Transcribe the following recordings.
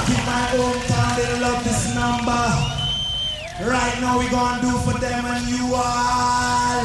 in my hometown, they love this number. Right now we gonna do for them and you all.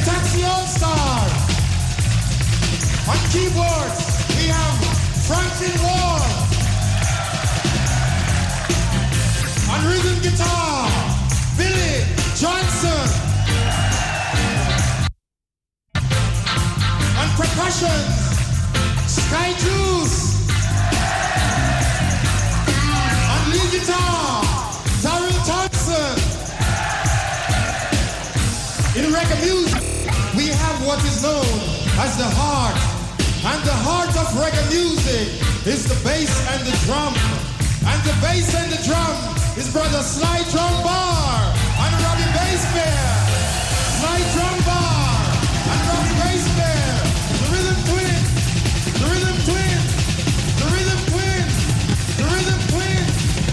Taxi All-Star. On keyboards, we have Franklin Wall. On rhythm guitar, Billy Johnson. On percussion, Sky Juice. On lead guitar, Darryl Thompson. In reggae music, we have what is known as the heart. And the heart of reggae music is the bass and the drum. And the bass and the drum is brother Sly Drum Bar and Robbie Bass Bear. Sly Drum Bar and Robbie Bass Bear. The rhythm twin. The rhythm twin. The rhythm twin. The rhythm twin.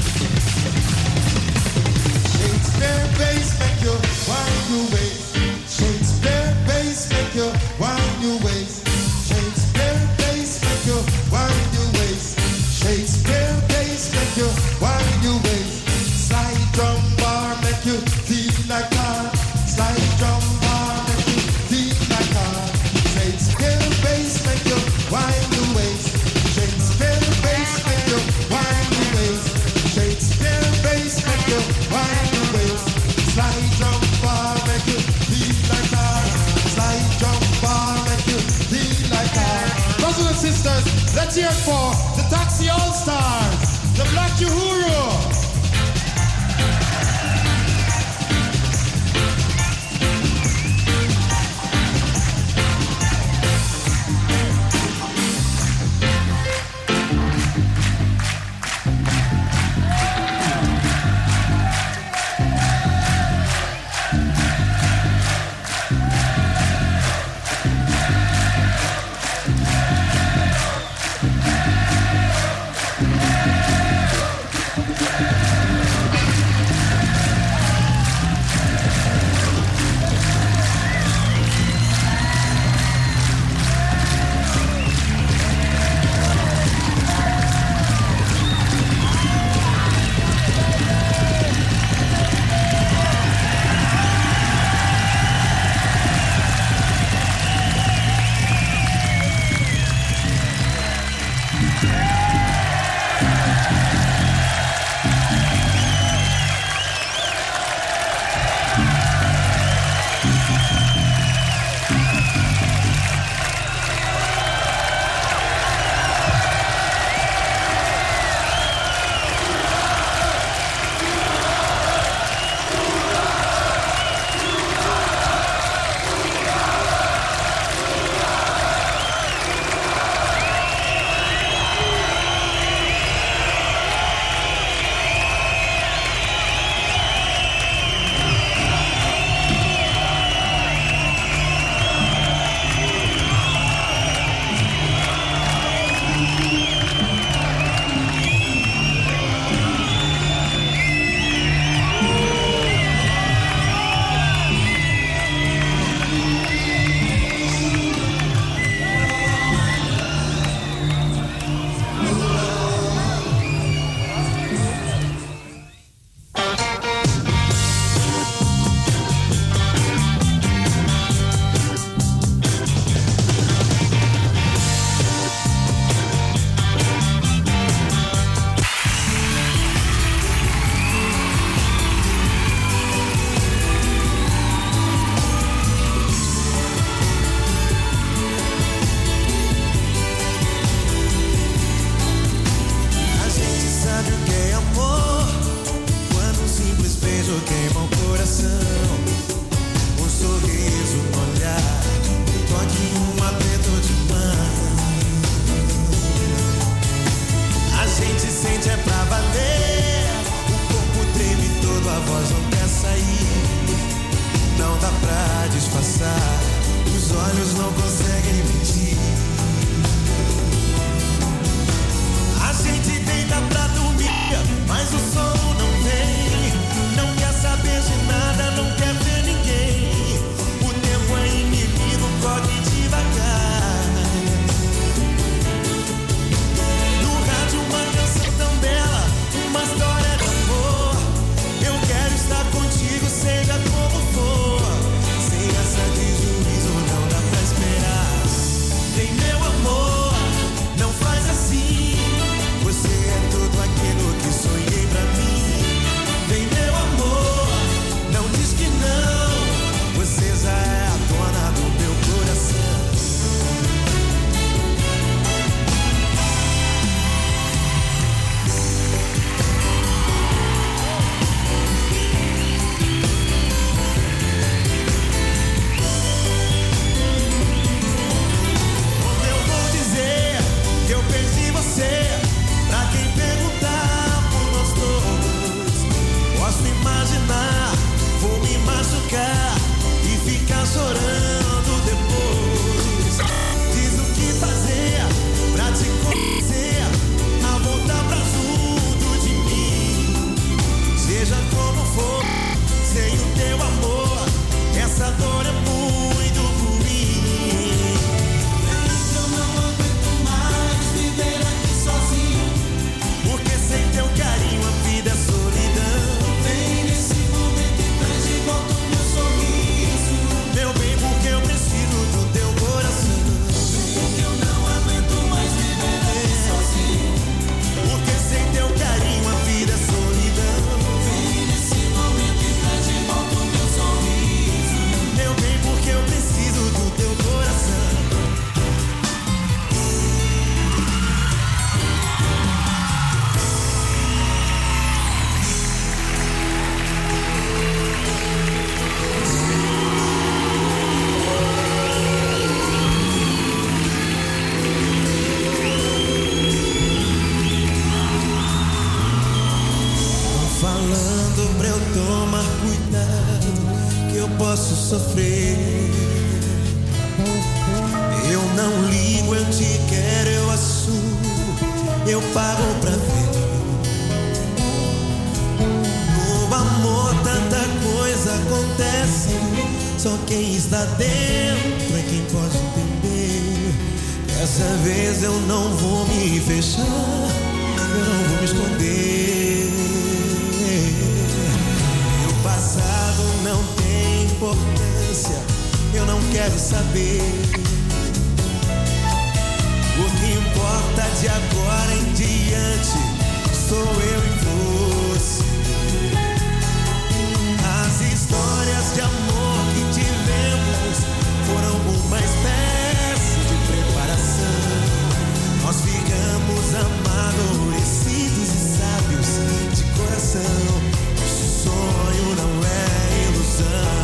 Shakespeare bass make you wind your waist. Shakespeare bass make you wind your waist. Shakespeare bass make you wind your waist. Shakespeare bass make you wind your waist. Slide drum bar make you feel like God. Slide drum bar make you feel like God. Shakespeare bass make you wind your waist. Shakespeare bass make you wind your waist. Shakespeare bass make you wind your waist. Slide drum bar make you feel like God. Slide drum bar make you feel like God. Brothers and sisters, let's hear it for the Taxi All-Stars, the Black Uhuru. ficar e ficar chorando depois. Diz o que fazer pra te convencer a voltar pra junto de mim. Seja como for, sem o teu amor, essa dor é muito ruim. Eu não aguento mais viver aqui sozinho, porque sem teu carinho a vida é solidão. Vem nesse momento e traz de volta o meu sorriso, meu bem, porque eu preciso do teu coração. Porque eu não aguento mais viver aqui sozinho, porque sem teu carinho a vida é solidão. Vem nesse momento e traz de volta o meu sorriso, meu bem, porque eu preciso do teu coração. Falando pra eu tomar cuidado, que eu posso sofrer. Eu não ligo, eu te quero, eu assumo, eu pago pra ver. No amor tanta coisa acontece, só quem está dentro é quem pode entender. Dessa vez eu não vou me fechar, eu não vou me esconder. Meu passado não tem importância, eu não quero saber. O que importa de agora em diante sou eu e você. As histórias de amor que tivemos foram uma espécie de preparação. Nós ficamos amadurecidos e sábios de coração. Nosso sonho não é ilusão.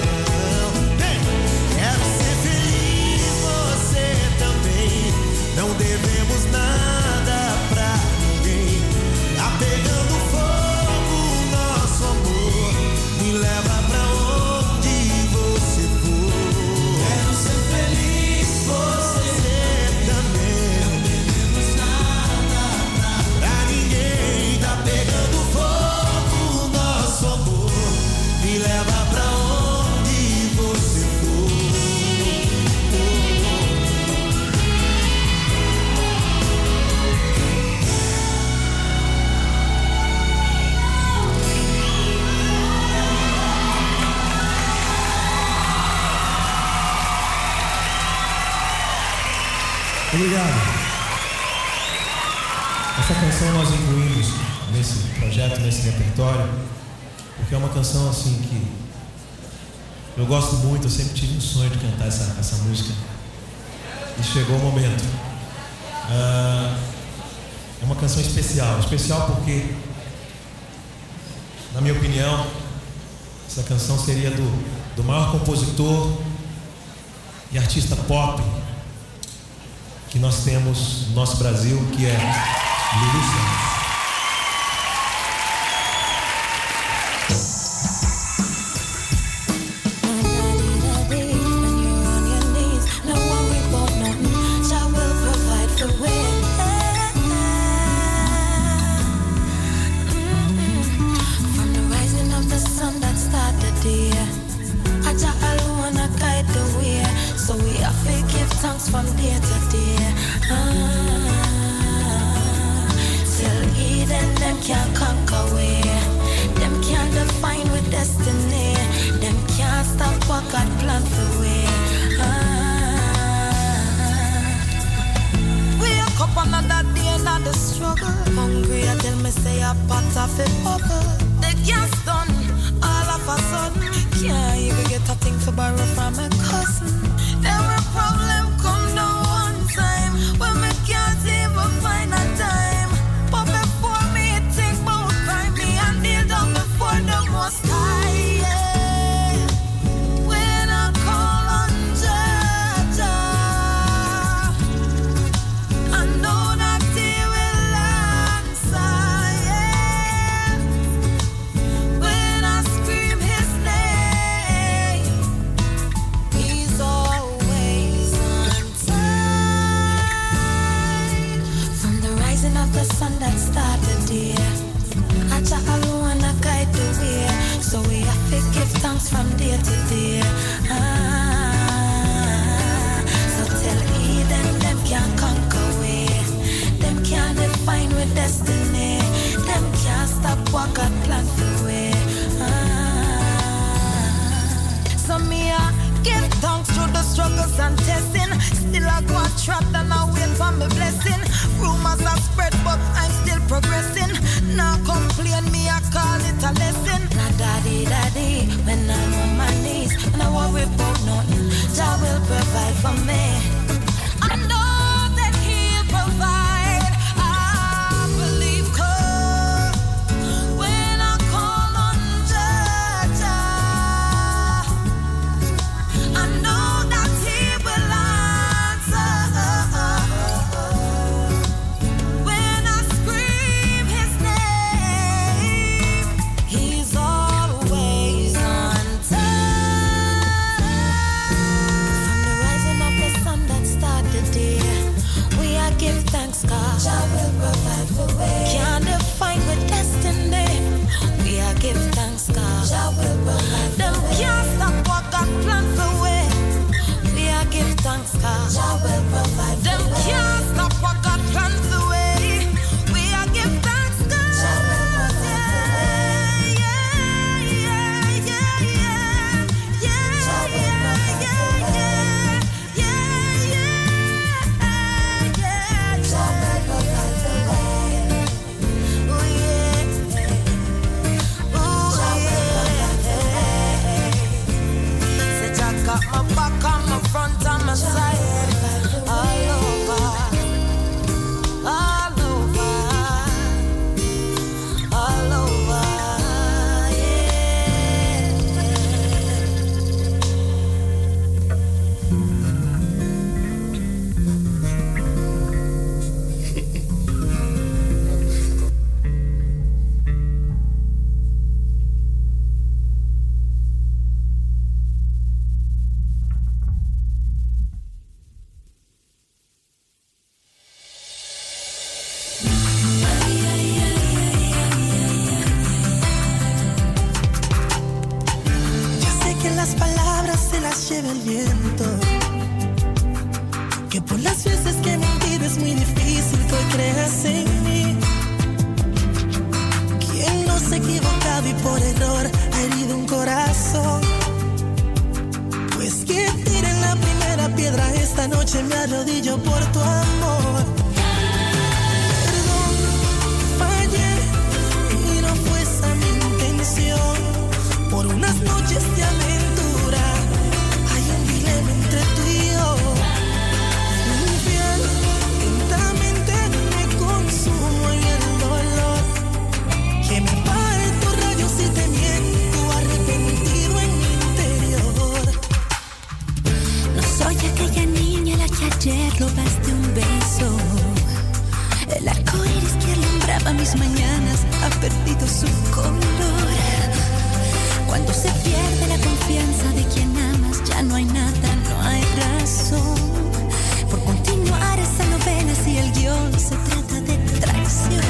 Quero ser feliz, você também. Não devemos nada pra ninguém. Tá pegando fogo o nosso amor, me leva pra onde você for. Quero ser feliz, você também. Não devemos nada pra ninguém. Tá pegando fogo o nosso amor, me leva pra onde você for. Obrigado. Essa canção nós incluímos nesse projeto, nesse repertório, porque é uma canção assim que eu gosto muito. Eu sempre tive um sonho de cantar essa música e chegou o momento. É uma canção especial porque, na minha opinião, essa canção seria do maior compositor e artista pop que nós temos no nosso Brasil, que é Lulu Santos. From day to day, till Eden, them can't conquer we. Them can't define with destiny. Them can't stop what God planned for we. Wake up another day, another struggle. Hungry, I tell me say a pot of a bubble. The gas done, all of a sudden. Can't even get a thing for borrow from a cousin. Every problem come down one time, when me can't even find a time. But before me think about crime, me and kneel down before the Most High. Yeah. When I call on Jah, I know that He will answer. Yeah. When I scream His name, plan for way. So me I give thanks through the struggles and testing. Still I go trapped and I wait for my blessing. Rumors are spread but I'm still progressing. Now complain me I call it a lesson. Now daddy, daddy, when I'm on my knees and I worry about nothing, Jah will provide for me. I know that He'll provide. I believe 'cause when I call on Jah, I know that He will answer. When I scream His name, He's always on time. From the rising of the sun that started the day, we are give thanks, God. Jah will provide for way. Can't define with destiny. We are give thanks, God. Jah will provide for way. Them can't stop what God planned for way. We are give thanks, God. Jah will provide for way. Them can't stop what God planned for way. We are give thanks, God. Jah will provide for way. Yeah, yeah, yeah, yeah, yeah. Jah will provide for way. Yeah, yeah, yeah. Jah will provide for way. Oh yeah. Oh yeah. Say Jah got my back on my front and my side. All over. All over. All over. Ya sé que las palabras se las lleva el viento, que por las veces que mentir es muy difícil que hoy creas en mí. Quien no se ha equivocado y por error ha herido un corazón, pues que tiren la primera piedra esta noche, me arrodillo por tu amor. Perdón, fallé y no fue esa mi intención. Por unas noches de aventura hay un dilema entre tú y yo. Infiel, lentamente me consumo en el dolor, que me parto rayos y te miento arrepentido en mi interior. No soy aquella niña a la que ayer robaste un beso. El arco iris que alumbraba mis mañanas ha perdido su color. Cuando se pierde la confianza de quien amas, ya no hay nada, no hay razón por continuar esa novela si el guión se trata de traición.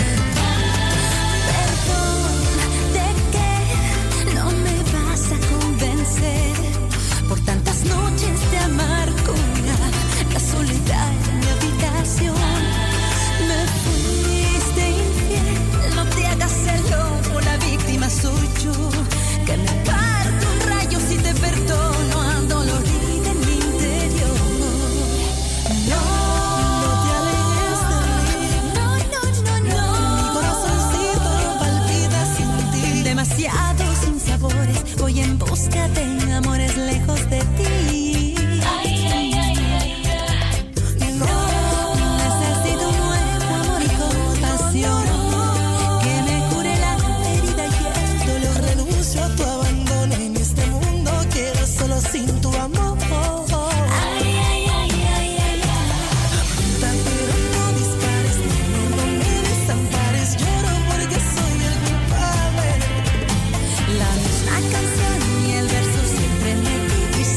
Perdón, ¿de qué no me vas a convencer? Por tantas noches de amargura, la soledad en mi habitación. Me fuiste infiel, no te hagas el loco, la víctima soy yo. Que me parto un rayo si te perdono al dolor de mi interior. No, No te alejes de mí, no, no, no, no. mi corazoncito palpita sin ti. Demasiado sin sabores, voy en busca de amores lejos de ti. No, Necesito un nuevo amor y compasión que me cure la herida y el dolor. renuncio a tu abandono, en este mundo quedo solo sin tu amor. Ay, ay, ay, ay, ay, ay. Pero no dispares, no me desampares, lloro porque soy el culpable. La misma canción y el verso siempre me dice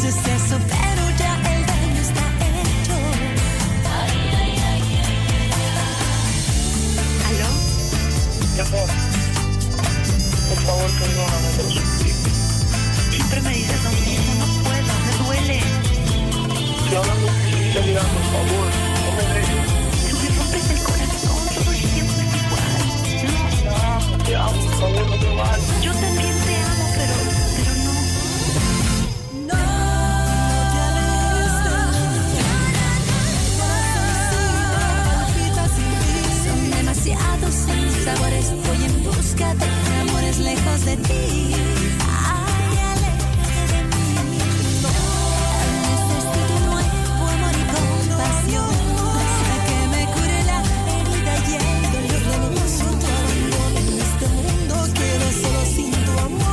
lejos de ti. Ay, aléjate de mí. Necesito un nuevo amor y compasión que me cure la herida y el dolor. Renuncio a tu abandono. En este mundo quedo solo sin tu amor.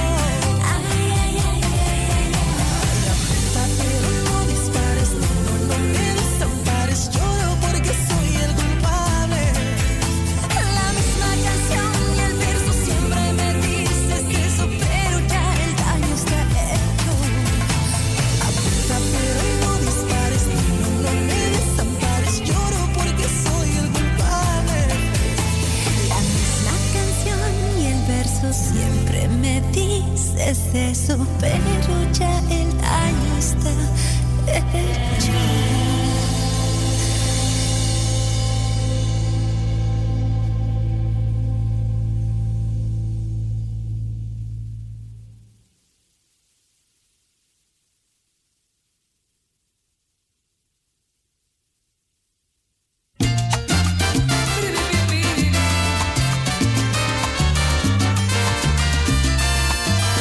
Pero no dispares, no me desampares. Lloro porque soy el culpable. La misma canción y el verso siempre me dices eso, pero ya el daño está hecho. Apunta, pero no dispares, no me desampares. Lloro porque soy el culpable. La misma canción y el verso siempre me dices eso, pero ya el daño está hecho.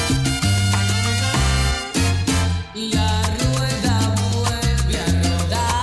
La rueda vuelve a rodar.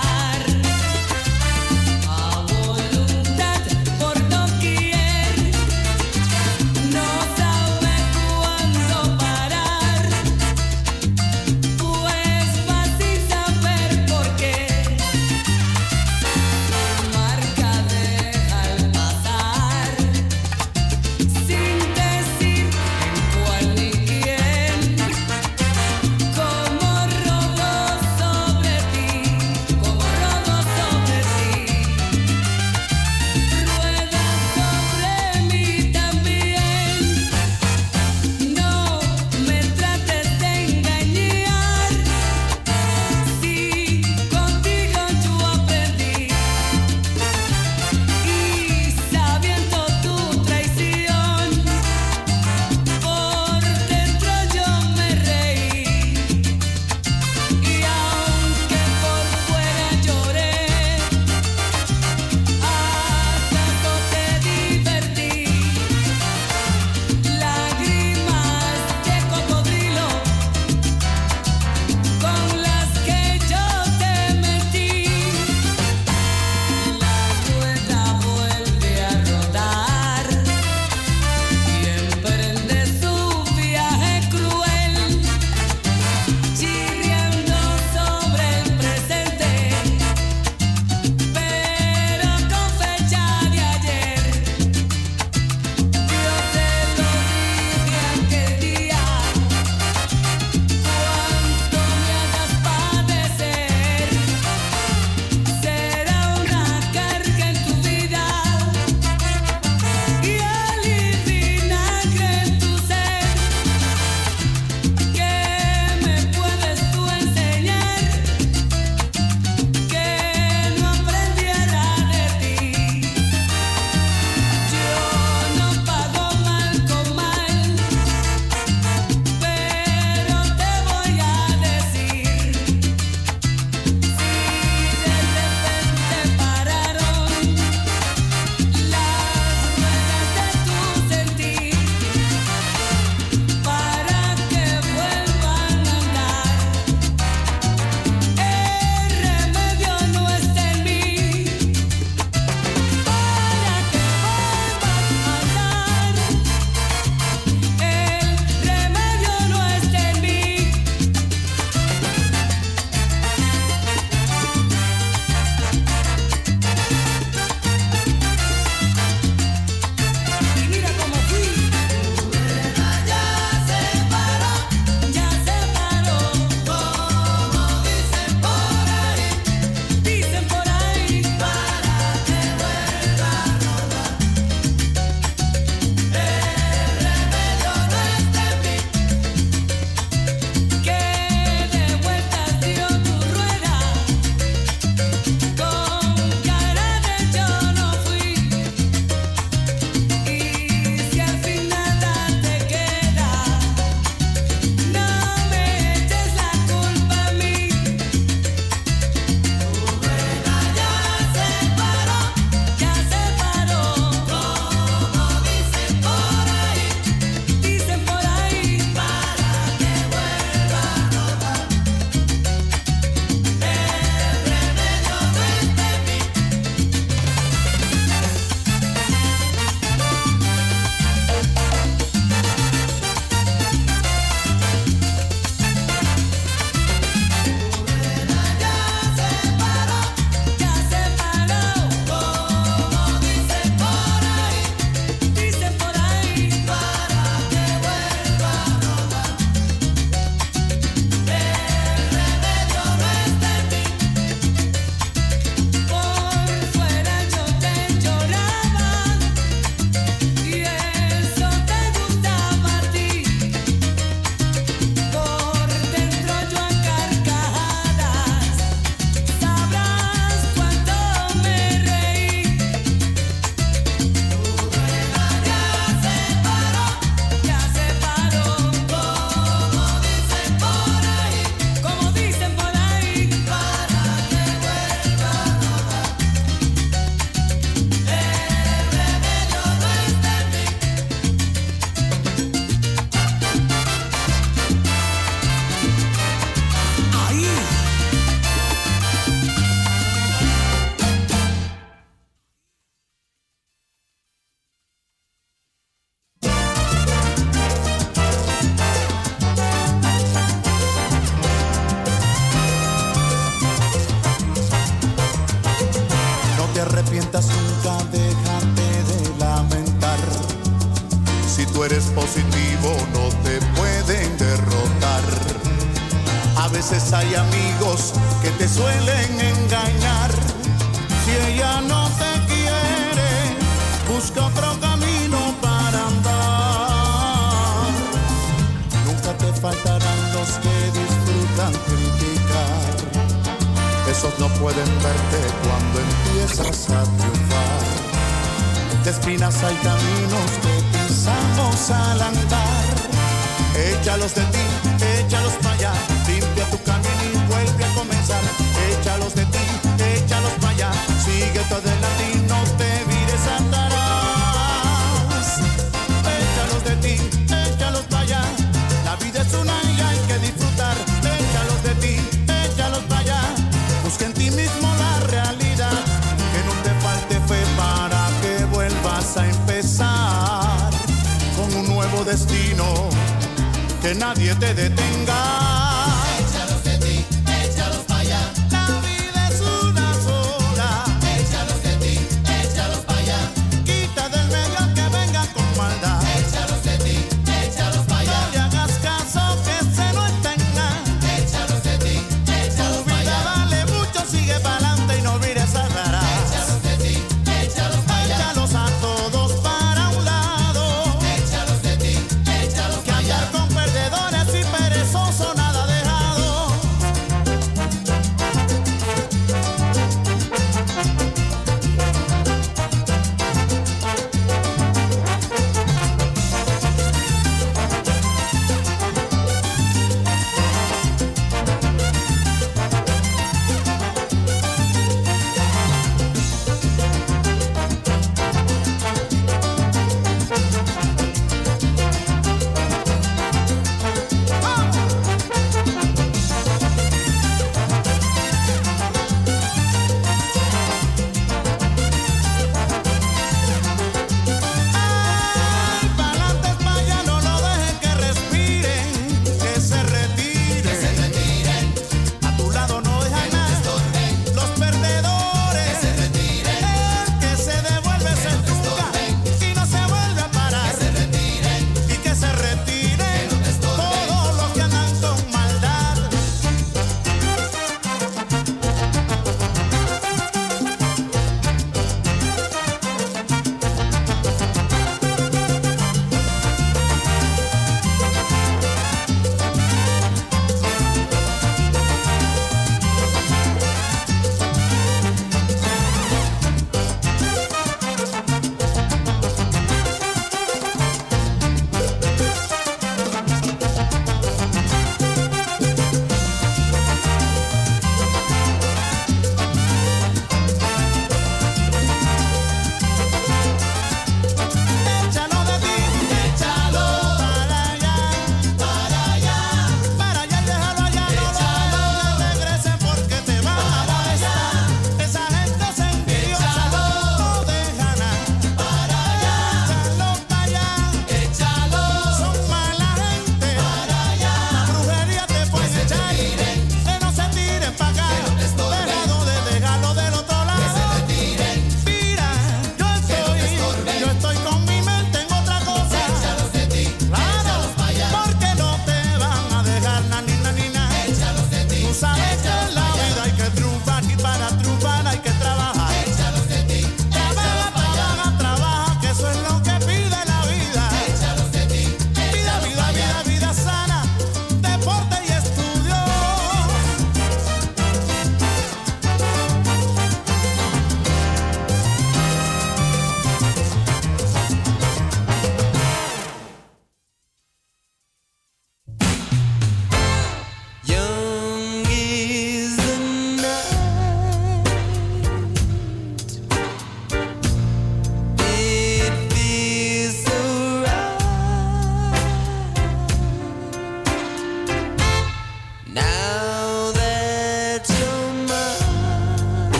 eres positivo no te pueden derrotar. A veces hay amigos que te suelen engañar. Si ella no te quiere, busca otro camino para andar. Nunca te faltarán los que disfrutan criticar. Esos no pueden verte cuando empiezas a triunfar. De espinas hay caminos que pisamos al andar. Échalos de ti, échalos para allá. Limpia tu camino y vuelve a comenzar. Échalos de ti, échalos para allá. Sigue todo adelante y no te vires atrás. Échalos de ti, échalos para allá. La vida es una y hay que disfrutar. Échalos de ti, échalos para allá. Busca en ti mismo la realidad. Que no te falte fe para que vuelvas a empezar con un nuevo destino. Que nadie te detenga. Échalos de ti, échalos para allá. La vida es una sola. Échalos de ti, échalos para allá. Quita del medio que venga con maldad. Échalos de ti, échalos para allá. No le hagas caso que se no tenga. Échalos de ti, échalos para allá. Dale mucho, sigue para adelante y no mires atrás. Échalos de ti, échalos para allá. Échalos a todos para un lado. Échalos de ti, échalos para allá. Que andar con perdedores y perezosos nada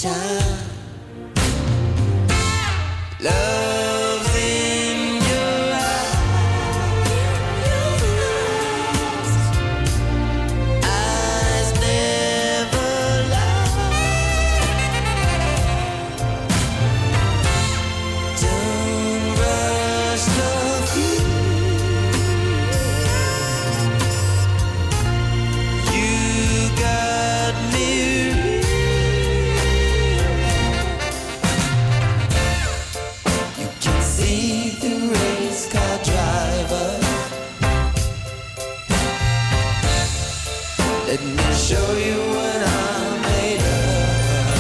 time. Love's in your eyes never lie. Don't rush the view. You got me. You can see the race car driver. Let me show you what I'm made of.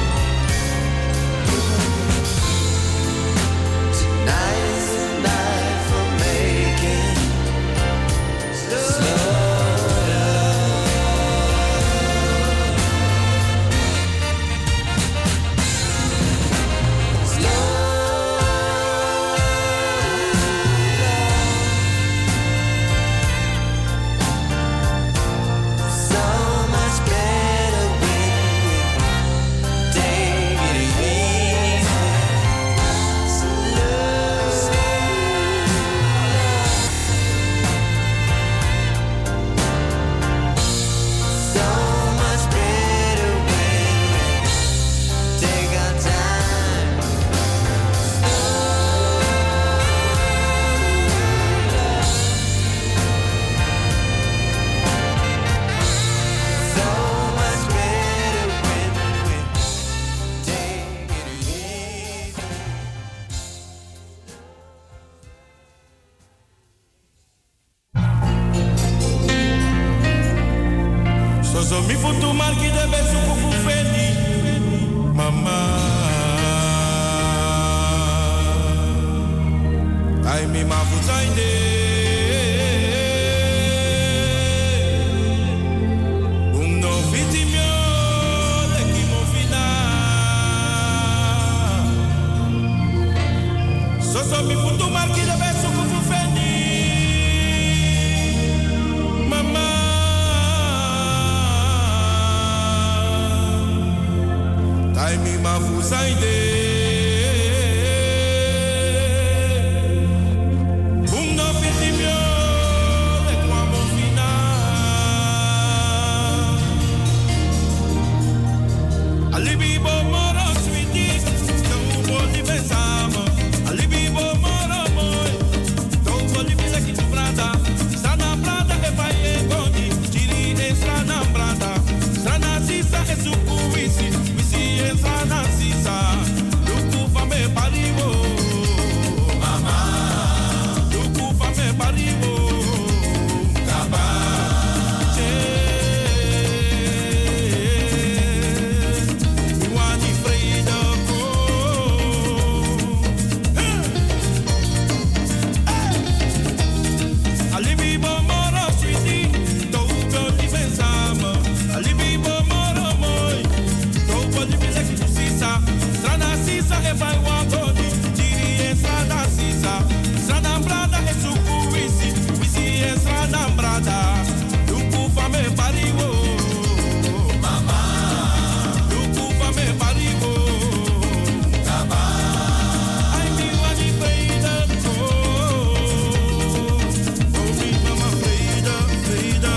Tonight is the night for making slow love. Slow love. So much better when we take it easy. Slow So much better when we take our time. So much better when we take it easy. Sozo mi futu marki de besu kufu feli mama. Ai mi ma fuzainde. No fiti mio le ki mo fina. Sozo mi futu marki de besu kufu feli mama. Taimi mafuzaide. No fiti mio le kwa mo fina. Alibi bo moro sweetie, don't boli pensamo. Alibi bo moro moi, don't boli pisa ki tu brada. Sana brada e vai e goni, giri e sana brada. Sana sisa e suku wisi, wisi e sana sisa. Luku fa me pariwo, mama. Luku fa me pariwo, kaba. Wani freida ko. Alibi bo moro sweetie, don't boli pensamo. Alibi bo moro moi, don't boli pisa ki tu sisa. Strana sisa e vai wagoni, giri e strana sisa. Strana brada e suku wisi, wisi e strana brada. Luku fa me pariwo, mama. Luku fa me pariwo, kaba. Ai mi wani freida ko. Oh mi mama freida, freida.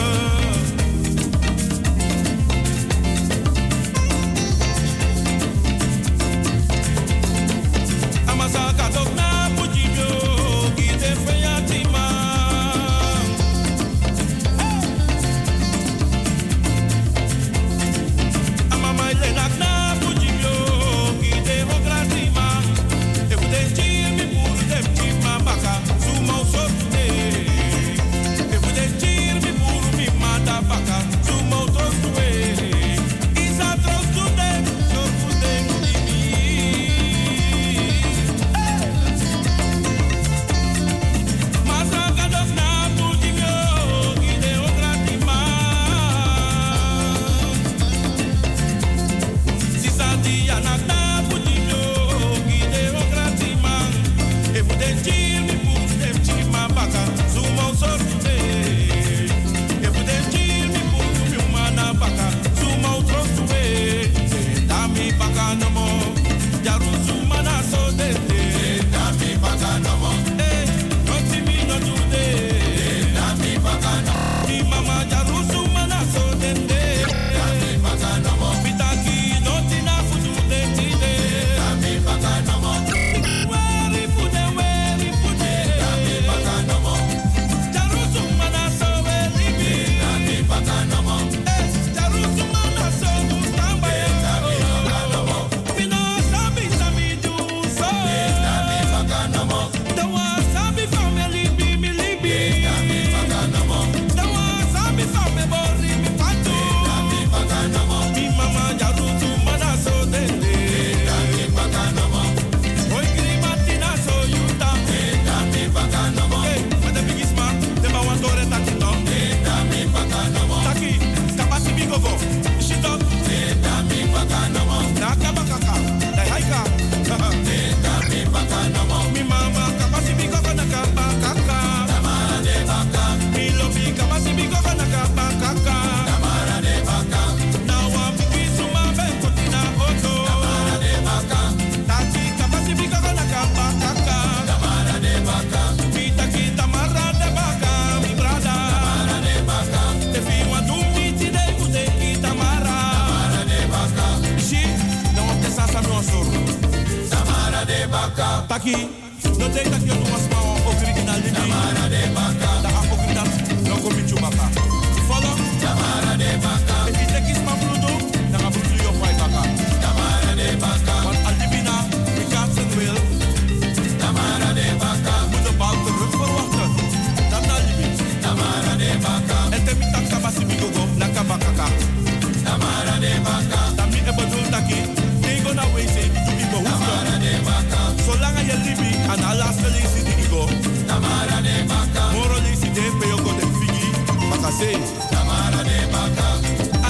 Taki, no denk dat je was maar original de Tamara de Baka. Da original no komi chumaka. Follow Tamara de Baka. If you take is my brudo, dan ga ik je op Baka. Tamara de Baka. Want Aldibina, we can't send will. Tamara de Baka. Moet de bal terug verwachten. Dan Aldibina. Tamara de Baka. En te mitak kabasi bigogo, la kabakaka. Tamara de Baka. Tami e bedoel taki. Tego na wezen, tu ibo Tamara de Baka. Zolang je libi, aan alles lezen die igo. Tamara de Baka. Moro lezen de peo go de figi. Baka say. Tamara de Baka.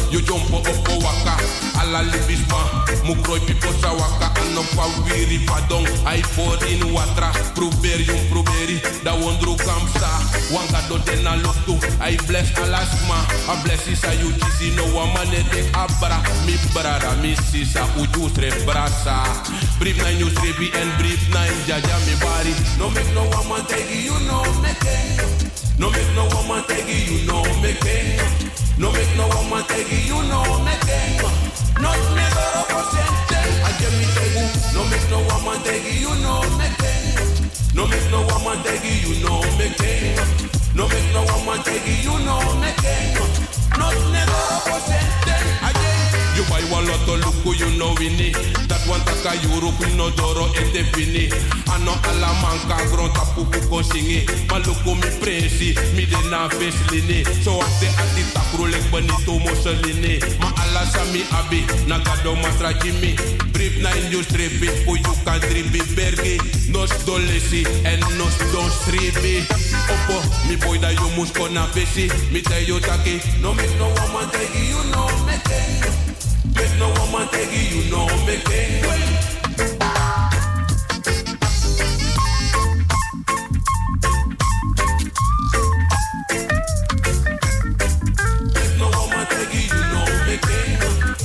you jump up waka. Alla libisma, mukroi pipo sa waka. Ano pa wiri padong, I pour in watra. Proberi, da wondru kamsa. Wanga do tena lotu, I bless alasma. A bless is a you cheesy, no wamane de abra. Mi brada, mi sisa, uju tre brasa. Brief 9 news, rebi and brief 9, jaja mi bari. No make no woman take you, no make it. No make no woman take you, no make it. No make no woman take you, no make it. Not me go presente. I get me take you. No make no woman take you, no make it. No make no woman take you, no make it. No make no woman take you, no make it. Not me go presente. I get you buy one lotto luku, you know we need. That one taka euro, no doro ete fini. Ano ala manka gron tapu ko singi. Maluku mi presi, mi de na feslini. So ate ati takru lek bonito moseline. Ma ala sami abi, nagado matra jimmy. Brief 9 you strip it, for you can dribi bergi. Nos dolesi en nos don stribi. Opo, mi boy da you mus kona besi. Mi tell you taki, no make no woman take you, no make it. Make no woman take you, no make it. Make no woman take you, no make it.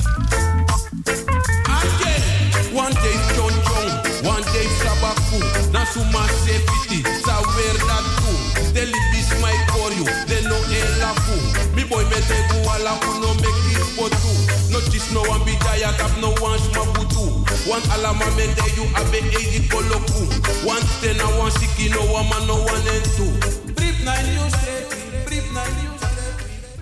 Again, one day chon chon, one day sabaku. Nasuma safety, sa wear that too. They libis my for you, they no elafu. Mi boy me te buala uno make it for two. Notice no one be jaya tap no one smabutu. One alama me te you abe eji koloku. One ten and one siki no one man no one and two. Brief 9 you straight, brief 9 you straight.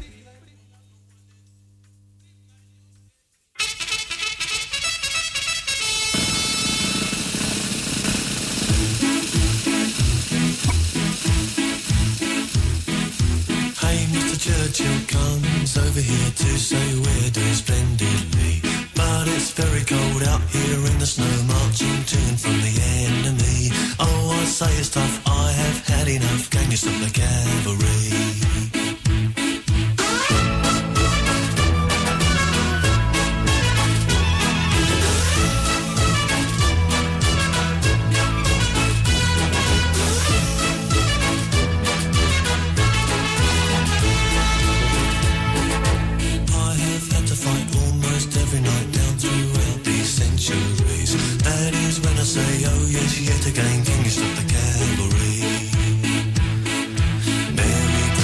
Hey, Mr. Churchill comes over here to say we're doing splendidly. But it's very cold out here in the snow, marching to and from the enemy. Oh, I say it's tough, I have had enough. Can you stop the cavalry? Say, oh yes, yet again, can you stop the cavalry? Merry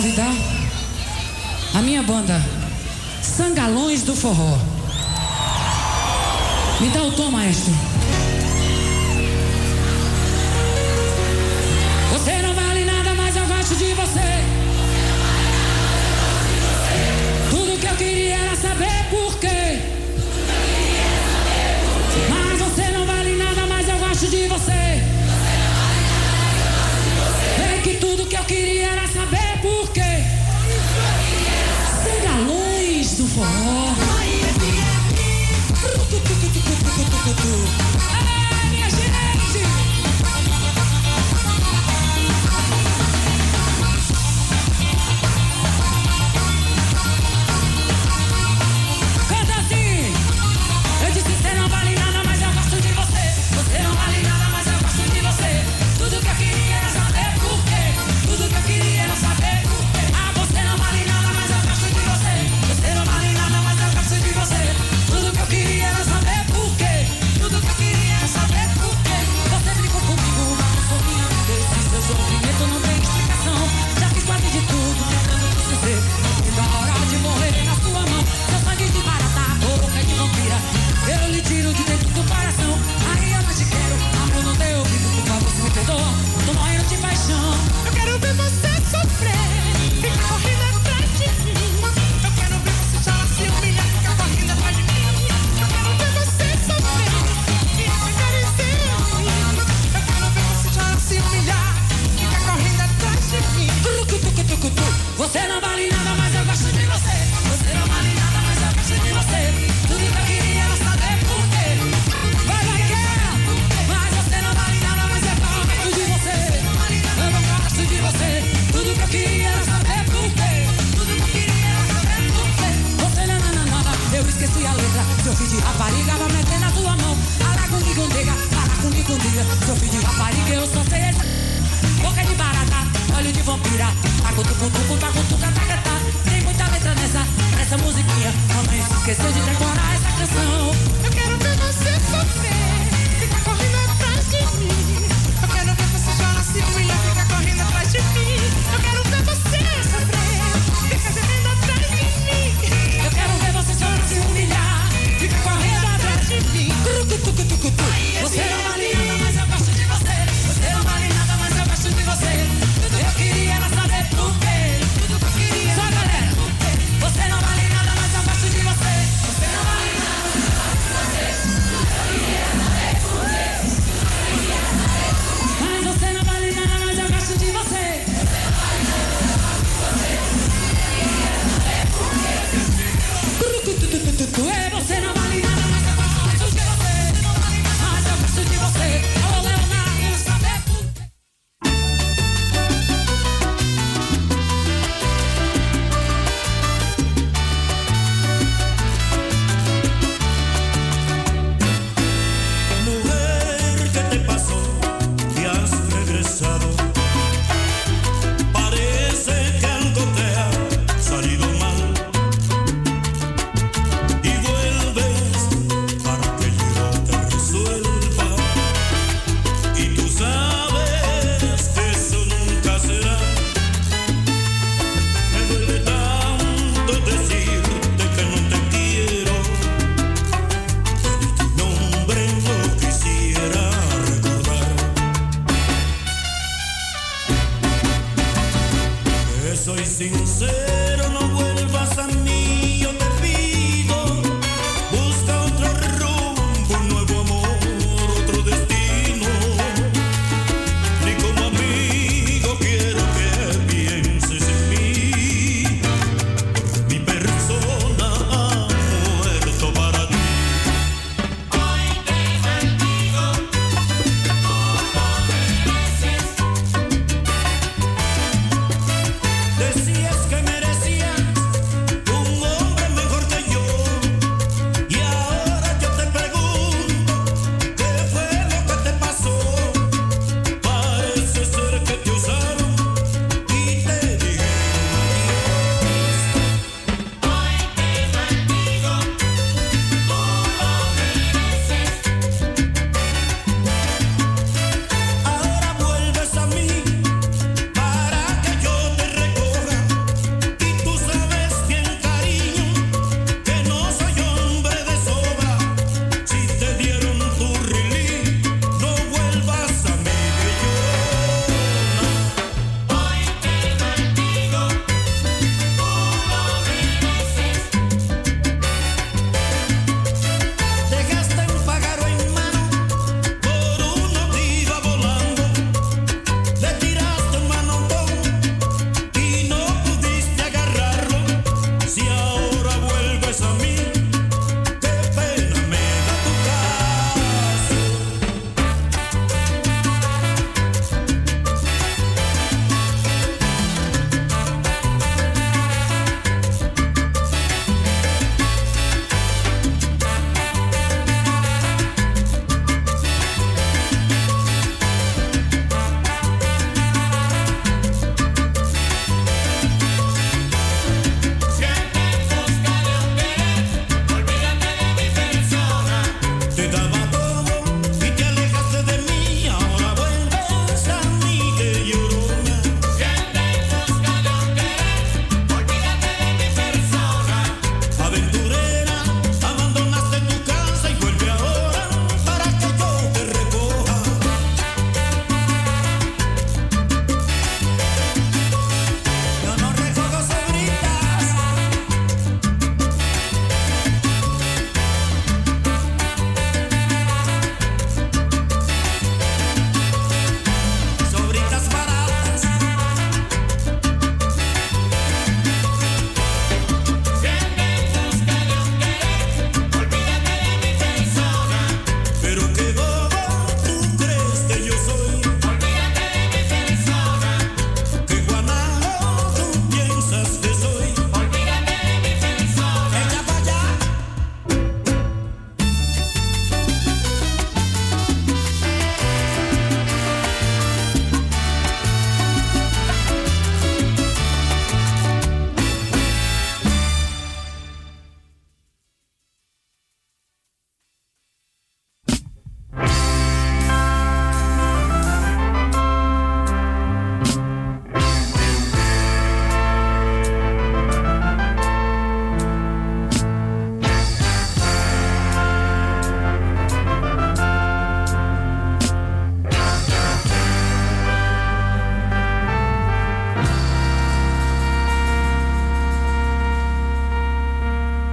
convidar a minha banda Sangalões do Forró. Me dá o tom, maestro. Você não vale nada, mas eu gosto de você. Tudo que eu queria era saber por quê. Mas você não vale nada, mas eu gosto de você. Sei que tudo que eu queria era saber por quê. Sangalões do Forró. Minha gente! Canta assim! Eu disse você não vale nada, mas eu gosto de você. Você não vale nada, mas eu gosto de você. Tudo que eu queria era saber por quê. Tudo que eu queria era saber por quê. Ah, você não vale nada, mas eu gosto de você. Você não vale nada, mas eu gosto de você. Tudo que eu queria era saber por quê. Tudo que eu queria era saber por quê. Você brincou comigo, mas eu sou minha vida. Esse seu sofrimento não tem explicação. Já fiz quase de tudo, tentando te sofrer. E da hora de morrer na sua mão. Seu sangue de barata, boca de vampira. Eu lhe tiro de dentro do coração. Aí eu não te quero, amor não deu ouvido. Por favor, se me perdoa, tô morrendo de paixão. Eu quero ver você sofrer, ficar correndo atrás de mim. Eu quero ver você chorar, se humilhar, ficar correndo atrás de mim. Eu quero ver você sofrer e acariciar em mim. Eu quero ver você chorar, se humilhar, ficar correndo atrás de mim. Você não vale nada, mas eu gosto de você. Você não vale nada, mas eu gosto de você. Tudo que eu queria era saber por quê. Vai, quer. Mas você não vale nada, mas eu gosto de você. Eu não gosto de você. Tudo que eu queria era saber por quê. Tudo que eu queria era saber por quê. Você não nada, eu esqueci a letra. Seu filho de rapariga vai meter na tua mão. Para comigo, nega, para comigo, nega. Seu filho de rapariga, eu só sei essa. Boca de barata, olho de vampira. Tacutucutucu, tacatá. Tem muita letra nessa musiquinha. Mamãe se esqueceu de decorar essa canção. Eu quero ver você sofrer, ficar correndo atrás de mim. Eu quero ver você chorar, se humilhar, ficar correndo atrás de mim. Eu quero ver você sofrer, ficar gemendo atrás de mim. Eu quero ver você chorar, se humilhar, ficar correndo atrás de mim. Você não vale nada, mas eu gosto de você. Você não vale nada, mas eu gosto de você. Tudo que eu queria era saber por quê. Tudo que eu queria. Só galera. Você não vale nada, mas eu gosto de você. Você não vale nada, mas eu gosto de você. Tudo que eu queria era saber por quê. Mas você não vale nada, mas eu gosto de você. Você não vale nada, mas eu gosto de você. Tudo que eu queria era saber por quê. Você não vale nada, mas eu gosto de você. Mas eu gosto de você. Alô, Leonardo, saber por quê. Mujer, ¿qué te pasó? Que has regresado. Parece que algo te ha salido mal. Y vuelves para que yo te resuelva. Y tú sabes que eso nunca será. Me duele tanto decirte que no te quiero. Tu nombre no quisiera recordar. Que soy sincero, no vuelvas a mí, yo te pido. Busca otro rumbo, un nuevo amor, otro destino. Ni como amigo quiero que pienses en mí. Mi persona ha muerto para ti. Hoy te bendigo, tú lo mereces. Decías que merecías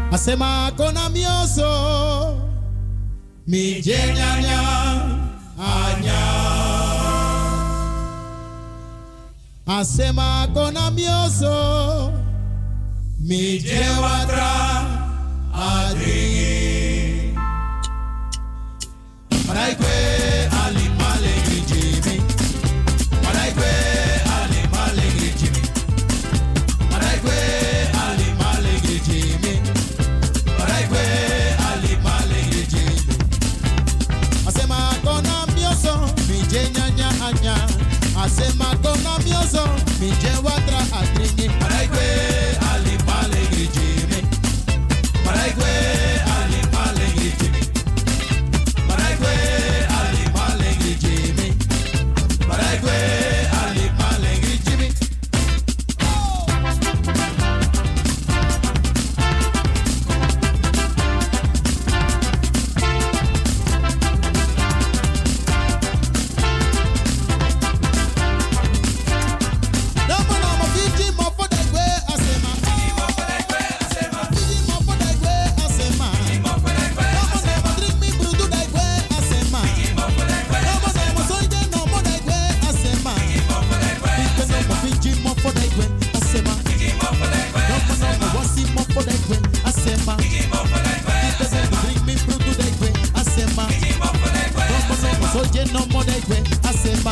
Asema kona mioso mi jenyanya anya. Asema kona mioso mi jewatra adri. Maraikwe alimale grijimi. Maraikwe alimale grijimi. Maraikwe alimale grijimi. Maraikwe alimale grijimi. Asema kona mioso mi jenyanya anya. Asema kona mioso mi jewatra adri. Maraikwe alimale grijimi. Maraikwe alimale grijimi. Maraikwe alimale grijimi. Maraikwe alimale grijimi. No more de gwe, asema.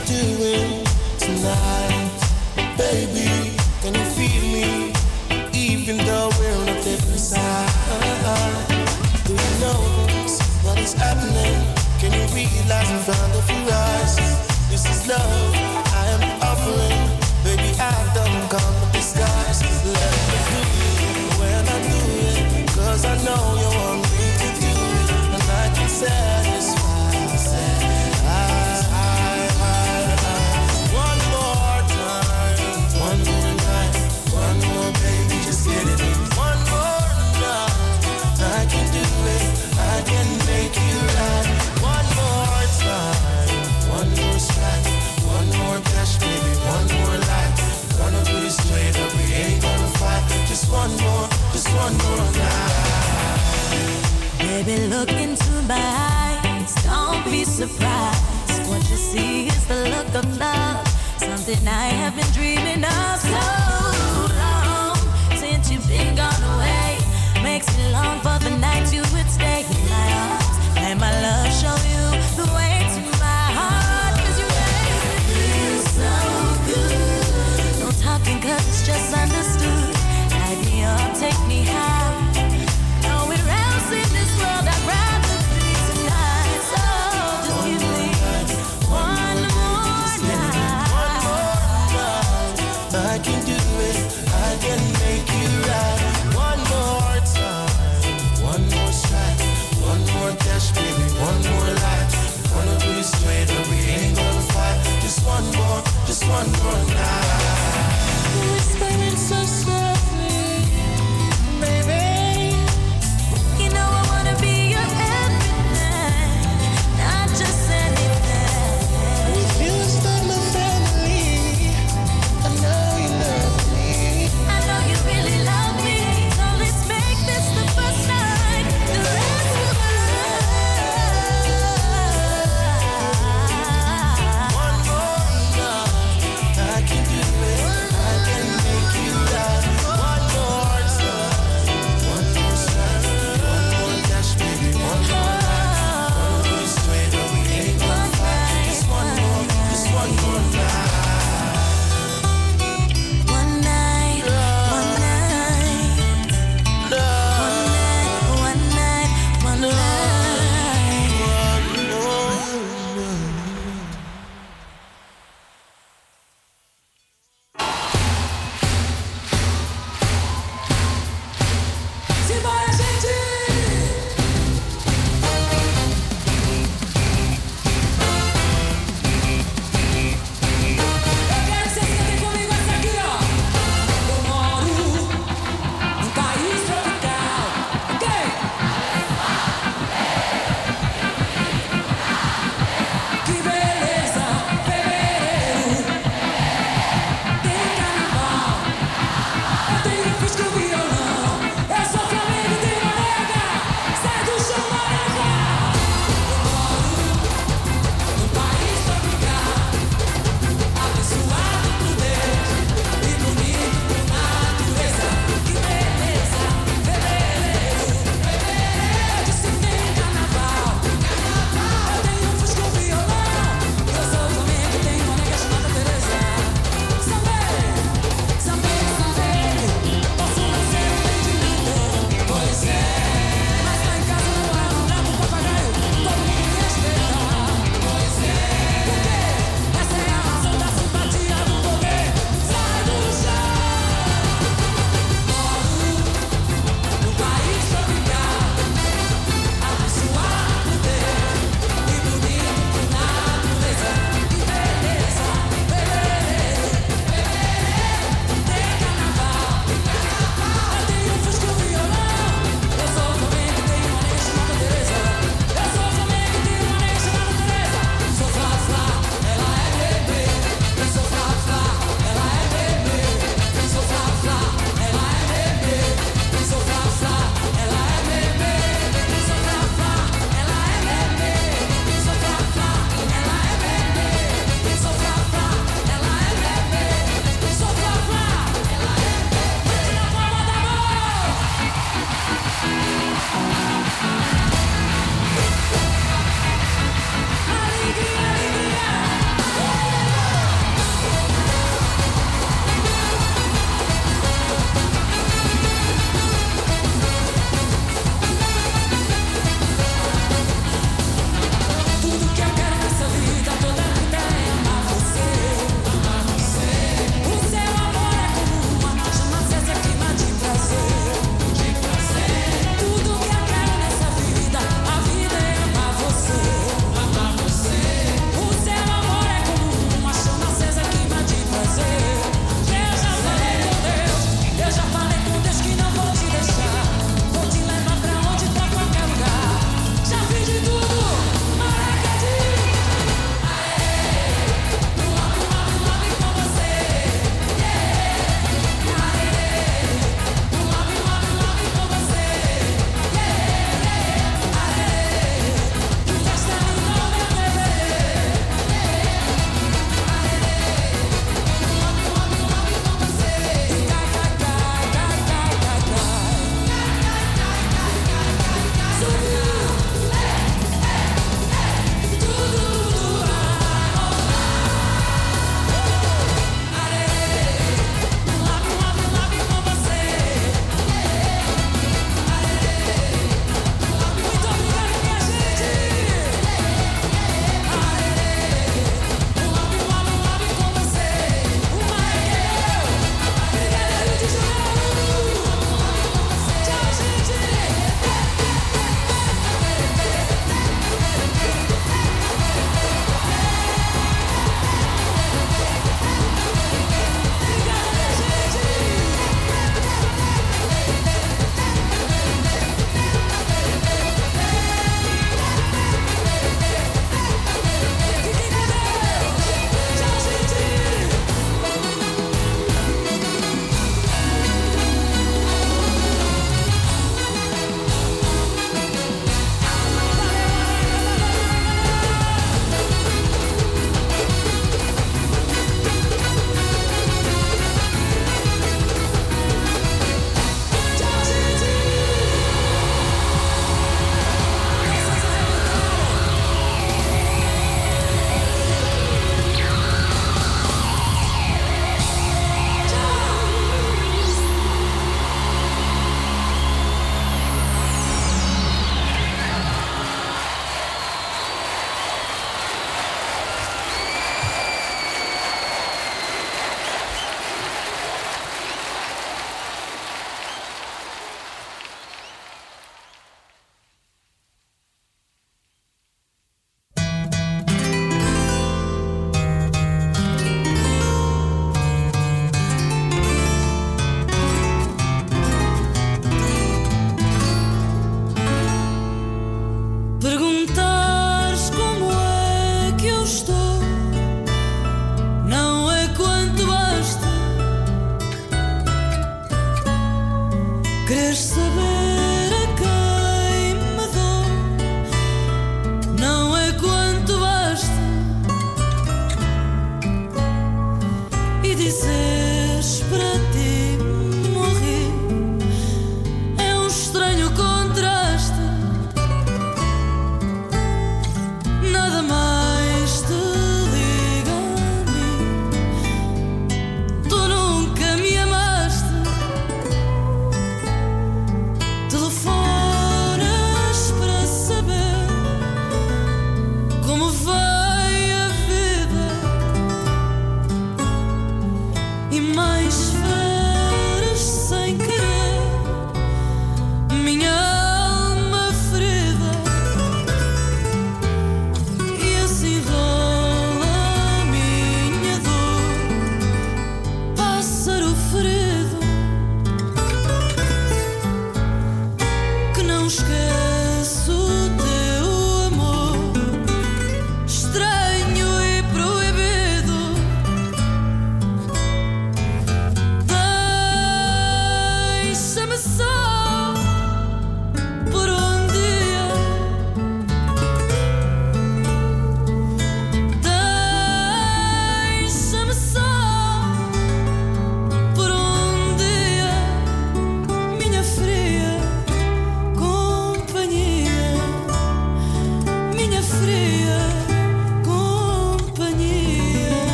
doing tonight? Baby, can you feel me? Even though we're on a different side. Do you notice what is happening? Can you realize in front of your eyes? This is love I am offering. Baby, I don't come with disguise. Let me do it when I do it, 'cause I know you want me to do it, and I can satisfy. One more time, one more night, one more baby, just get it in. One more night, I can do it, I can make you right. One more time, one more strike, one more dash, baby, one more life. Gonna do this straight up, we ain't gonna fight. Just one more night. Baby, look into my eyes, don't be surprised. What you see is the look of love, something I have been dreaming of so long. Since you've been gone away, makes me long for the night you would stay in my arms. Let my love show you the way to my heart, 'cause you make me feel so good. No talking 'cause it's just understood. Light me up, take me high. Nowhere else in this world I'd rather be tonight. So just give me one more night. One more night, I can do it, I can make you right. One more time, one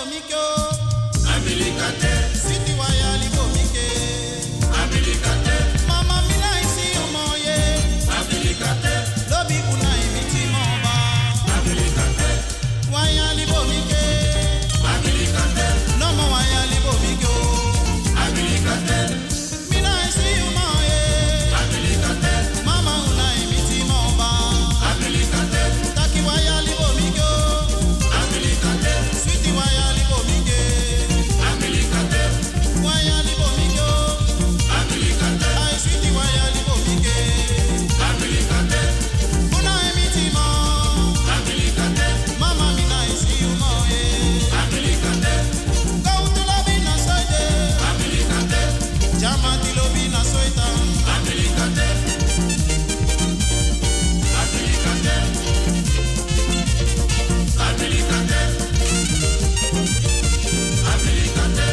libomikyo. Abilikate. Sweetie waya libomike. Abilikate. Mama mina isi umoye. Abilikate. Lobi kuna imiti moba. Abilikate. Waya libomike. Abilikate. Nomo waya libomikyo. Abilikate. Mina isi umoye. Abilikate. Mama una imiti moba. Abilikate. Taki waya libomikyo. Abilikate. Sweetie waya libomike. Abilikate. Waya libomikyo. Abilikate. Ay sweetie waya libomike. Abilikate. Una imiti mo. Abilikate. Mama mina isi umoye. Abilikate. Go to lobina soide. Abilikate. Jamati lobina soita. Abilikate. Abilikate. Abilikate. Abilikate.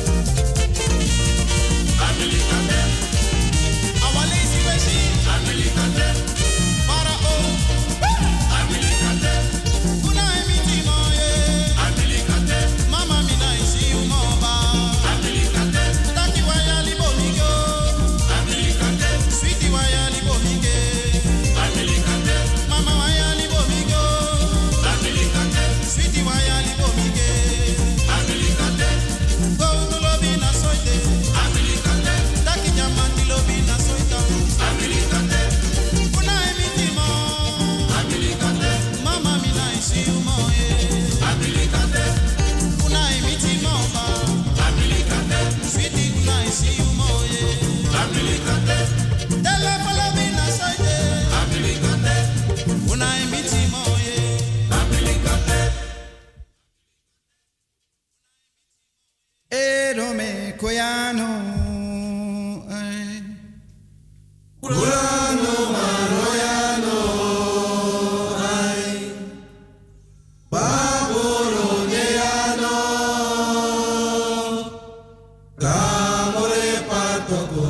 Abilikate. Awale isi weshi. Abilikate. Para o. Abilikate. Una emiti moye. Abilikate. Mama mina isi umoba. Abilikate. Taki waya libomige. Abilikate. Sweetie waya libomige. Abilikate. Mama waya libomige. Abilikate. Sweetie waya libomige. Abilikate. Go to lobina soite. Abilikate. Taki jamandi lobina soita. Abilikate. Una emiti mo. Abilikate. Mama mina isi umoye. Abilikate. Una emiti moba. Abilikate. Sweetie una isi umoye. Abilikate. Telephone lobina soite. Abilikate. Una emiti moye. Abilikate. Erome koyano. Ay. Kurano maroyano. Ay. Baboro neano. Kamore patoko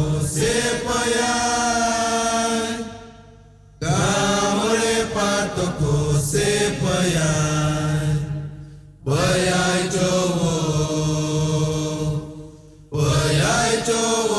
sepayay. Kamore patoko sepayay. Bayay jowo. Bayay jowo.